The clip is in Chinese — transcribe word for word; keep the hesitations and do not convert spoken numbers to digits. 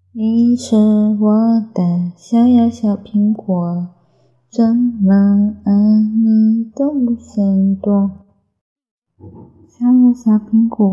你是我的小呀小苹果，怎么爱你都不嫌多。小呀小苹果。